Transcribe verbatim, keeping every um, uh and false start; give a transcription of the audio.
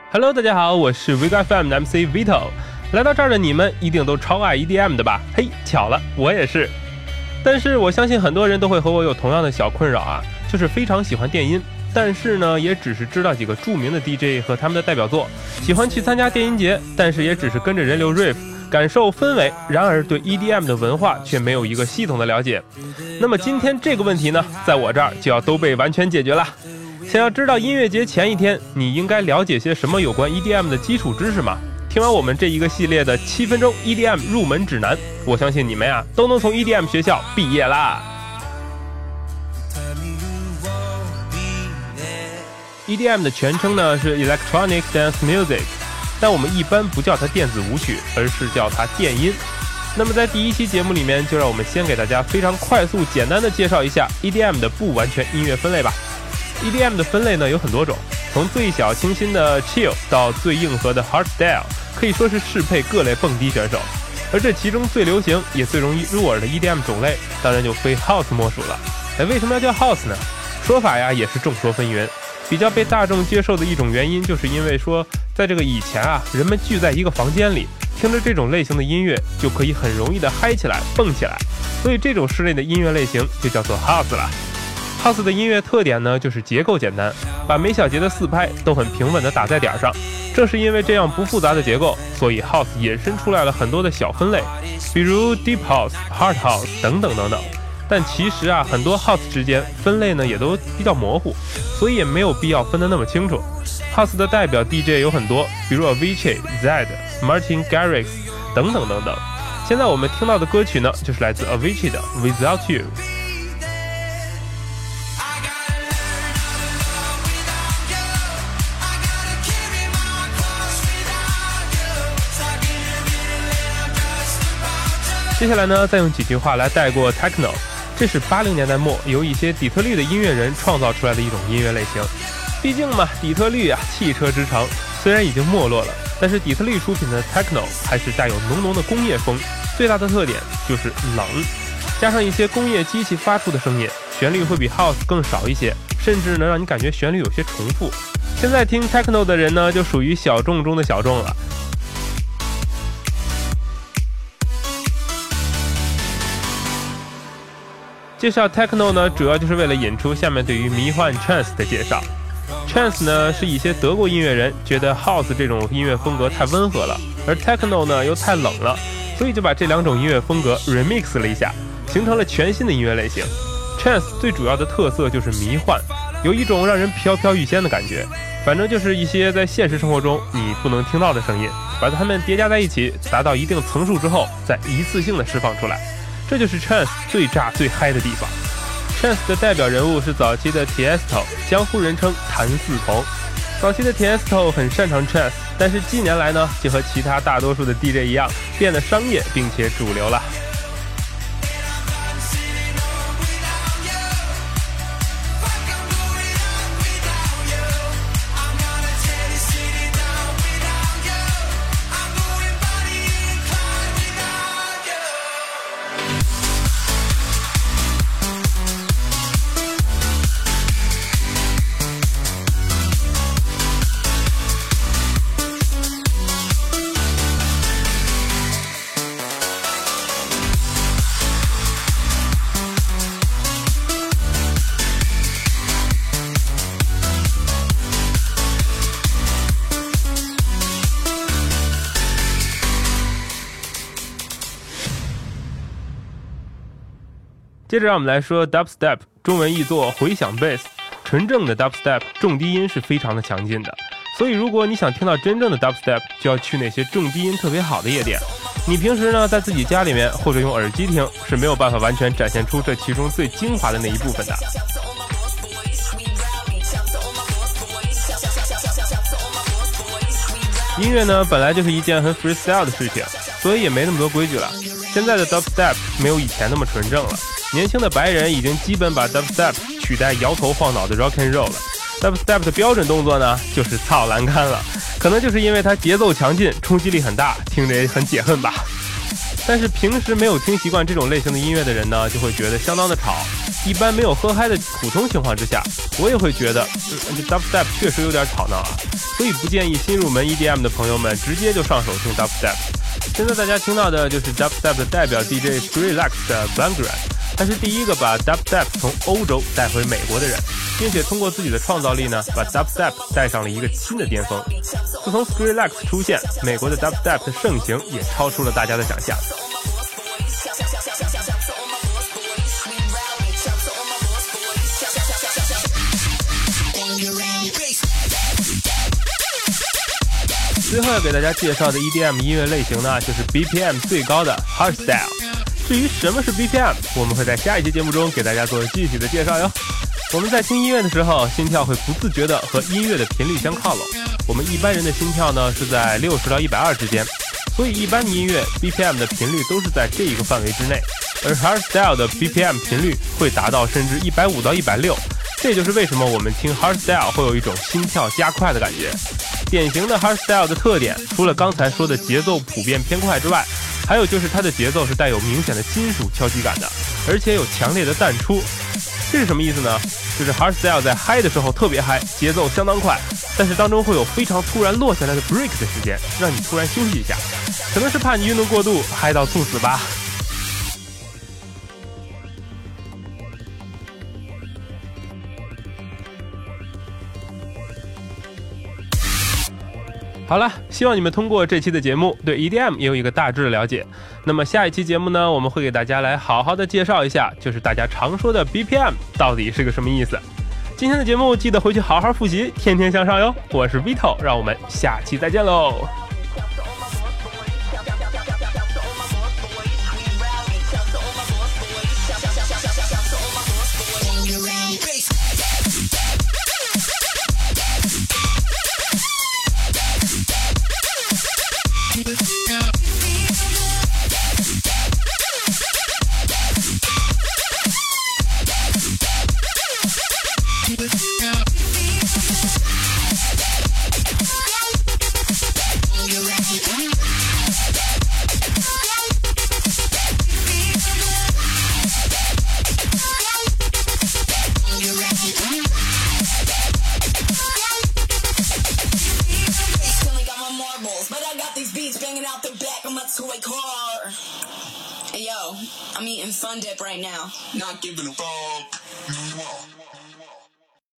Hello， 大家好，我是 Vigo F M 的 M C Vito。来到这儿的你们一定都超爱 E D M 的吧？嘿，巧了，我也是。但是我相信很多人都会和我有同样的小困扰啊，就是非常喜欢电音，但是呢，也只是知道几个著名的 D J 和他们的代表作，喜欢去参加电音节，但是也只是跟着人流 riff， 感受氛围，然而对 E D M 的文化却没有一个系统的了解。那么今天这个问题呢，在我这儿就要都被完全解决了。想要知道音乐节前一天你应该了解些什么有关 E D M 的基础知识吗？听完我们这一个系列的七分钟 E D M 入门指南，我相信你们呀都能从 E D M 学校毕业啦。E D M 的全称呢是 Electronic Dance Music， 但我们一般不叫它电子舞曲，而是叫它电音。那么在第一期节目里面，就让我们先给大家非常快速简单的介绍一下 E D M 的不完全音乐分类吧。E D M 的分类呢有很多种，从最小清新的 chill 到最硬核的 hardstyle， 可以说是适配各类蹦迪选手。而这其中最流行也最容易入耳的 E D M 种类，当然就非 house 莫属了。哎，为什么要叫 house 呢？说法呀也是众说纷纭。比较被大众接受的一种原因，就是因为说，在这个以前啊，人们聚在一个房间里，听着这种类型的音乐，就可以很容易的嗨起来、蹦起来，所以这种室内的音乐类型就叫做 house 了。House 的音乐特点呢，就是结构简单，把每小节的四拍都很平稳地打在点上。正是因为这样不复杂的结构，所以 House 衍生出来了很多的小分类，比如 Deep House、Hard House 等等等等。但其实啊，很多 House 之间分类呢也都比较模糊，所以也没有必要分得那么清楚。House 的代表 D J 有很多，比如 Avicii、Zedd、Martin Garrix 等等等等。现在我们听到的歌曲呢，就是来自 Avicii 的 Without You。接下来呢，再用几句话来带过 Techno， 这是八零年代末由一些底特律的音乐人创造出来的一种音乐类型。毕竟嘛，底特律啊，汽车之城，虽然已经没落了，但是底特律出品的 Techno 还是带有浓浓的工业风，最大的特点就是冷，加上一些工业机器发出的声音，旋律会比 House 更少一些，甚至能让你感觉旋律有些重复。现在听 Techno 的人呢，就属于小众中的小众了。介绍 Techno 呢，主要就是为了引出下面对于迷幻 Trance 的介绍。Trance 呢，是一些德国音乐人觉得 House 这种音乐风格太温和了，而 Techno 呢又太冷了，所以就把这两种音乐风格 remix 了一下，形成了全新的音乐类型。Trance 最主要的特色就是迷幻，有一种让人飘飘欲仙的感觉，反正就是一些在现实生活中你不能听到的声音，把它们叠加在一起，达到一定层数之后，再一次性的释放出来。这就是 Trance 最炸最嗨的地方。Trance 的代表人物是早期的 Tiesto， 江湖人称谭嗣同。早期的 Tiesto 很擅长 Trance， 但是近年来呢，就和其他大多数的 D J 一样，变得商业并且主流了。接着让我们来说 Dubstep， 中文译作回响 Bass。 纯正的 Dubstep 重低音是非常的强劲的，所以如果你想听到真正的 Dubstep， 就要去那些重低音特别好的夜店。你平时呢在自己家里面或者用耳机听，是没有办法完全展现出这其中最精华的那一部分的。音乐呢本来就是一件很 freestyle 的事情，所以也没那么多规矩了。现在的 Dubstep 没有以前那么纯正了，年轻的白人已经基本把 Dubstep 取代摇头晃脑的 Rock and Roll 了。Dubstep 的标准动作呢就是操栏杆了，可能就是因为它节奏强劲，冲击力很大，听着也很解恨吧。但是平时没有听习惯这种类型的音乐的人呢，就会觉得相当的吵， 一般没有喝嗨的普通情况之下，我也会觉得，嗯，这 dubstep 确实有点吵闹啊，所以不建议新入门 E D M 的朋友们直接就上手听 dubstep。现在大家听到的就是 dubstep 的代表 D J Skrillex 的 Bangran， 他是第一个把 dubstep 从欧洲带回美国的人，并且通过自己的创造力呢，把 dubstep 带上了一个新的巅峰。自从 Skrillex 出现，美国的 dubstep 的盛行也超出了大家的想象。最后要给大家介绍的 E D M 音乐类型呢，就是 B P M 最高的 Hardstyle。至于什么是 B P M， 我们会在下一期节目中给大家做具体的介绍哟。我们在听音乐的时候，心跳会不自觉的和音乐的频率相靠拢。我们一般人的心跳呢是在六十到一百二之间，所以一般的音乐 B P M 的频率都是在这一个范围之内。而 Hardstyle 的 B P M 频率会达到甚至一百五到一百六，这就是为什么我们听 Hardstyle 会有一种心跳加快的感觉。典型的 Hardstyle 的特点，除了刚才说的节奏普遍偏快之外，还有就是它的节奏是带有明显的金属敲击感的，而且有强烈的淡出。这是什么意思呢？就是 Hardstyle 在嗨的时候特别嗨，节奏相当快，但是当中会有非常突然落下来的 break 的时间，让你突然休息一下，可能是怕你运动过度嗨到猝死吧。好了，希望你们通过这期的节目对 E D M 也有一个大致的了解。那么下一期节目呢，我们会给大家来好好的介绍一下，就是大家常说的 B P M 到底是个什么意思。今天的节目记得回去好好复习，天天向上哟。我是 Vito， 让我们下期再见喽。 Hey yo, I'm eating Fun Dip right now. Not giving a fuck.